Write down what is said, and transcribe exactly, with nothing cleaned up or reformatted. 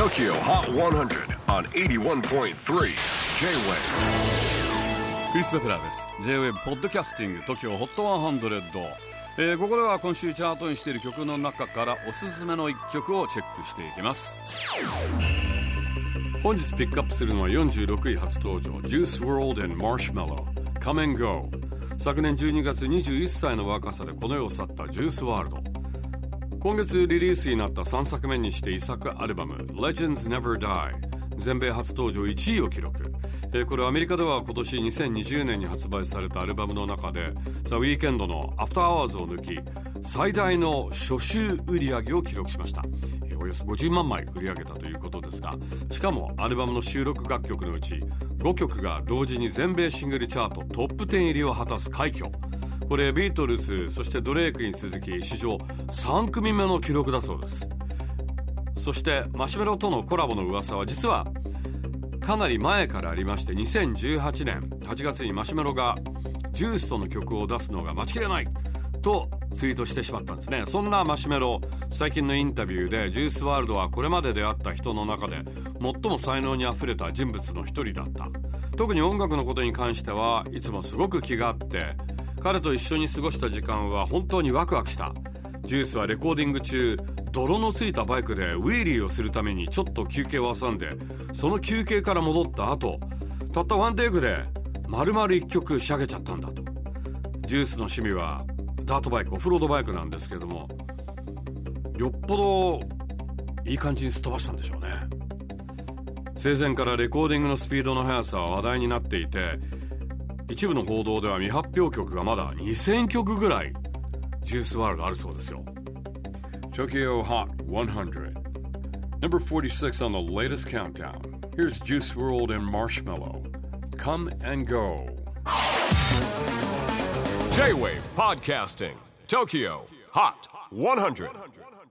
Tokyo Hot one hundred on エイティワンポイントスリー J-Wave。 クリス・ベプラーです。 J-Wave ポッドキャスティング Tokyo Hot ワンハンドレッド、えー、ここでは今週チャートにしている曲の中からおすすめのいっきょくをチェックしていきます。本日ピックアップするのはよんじゅうろくい初登場 Juice world and Marshmello Come and Go。 昨年じゅうにがつにじゅういっさいの若さでこの世を去ったジュースワールド。今月リリースになったさんさくめにして遺作アルバム Legends Never Die 全米初登場いちいを記録。えー、これアメリカでは今年にせんにじゅうねんに発売されたアルバムの中で The Weeknd の After Hours を抜き最大の初週売り上げを記録しました。えー、およそごじゅうまんまい売り上げたということですが、しかもアルバムの収録楽曲のうちごきょくが同時に全米シングルチャートトップじゅう入りを果たす快挙。これビートルズそしてドレイクに続き史上さんくみめの記録だそうです。そしてマシュメロとのコラボの噂は実はかなり前からありまして、にせんじゅうはちねんはちがつにマシュメロがジュースとの曲を出すのが待ちきれないとツイートしてしまったんですね。そんなマシュメロ、最近のインタビューでジュースワールドはこれまで出会った人の中で最も才能にあふれた人物の一人だった。特に音楽のことに関してはいつもすごく気があって、彼と一緒に過ごした時間は本当にワクワクした。ジュースはレコーディング中泥のついたバイクでウィーリーをするためにちょっと休憩を挟んで、その休憩から戻った後たったワンテイクで丸々一曲仕上げちゃったんだと。ジュースの趣味はダートバイク、オフロードバイクなんですけれども、よっぽどいい感じにすっ飛ばしたんでしょうね。生前からレコーディングのスピードの速さは話題になっていて、一部の報道では未発表曲がまだにせんきょくぐらいジュースワールドあるそうですよ。 Tokyo Hot one hundred Number forty-six on the latest countdown. Here's Juice world and Marshmello Come and Go。 J-Wave Podcasting Tokyo Hot one hundred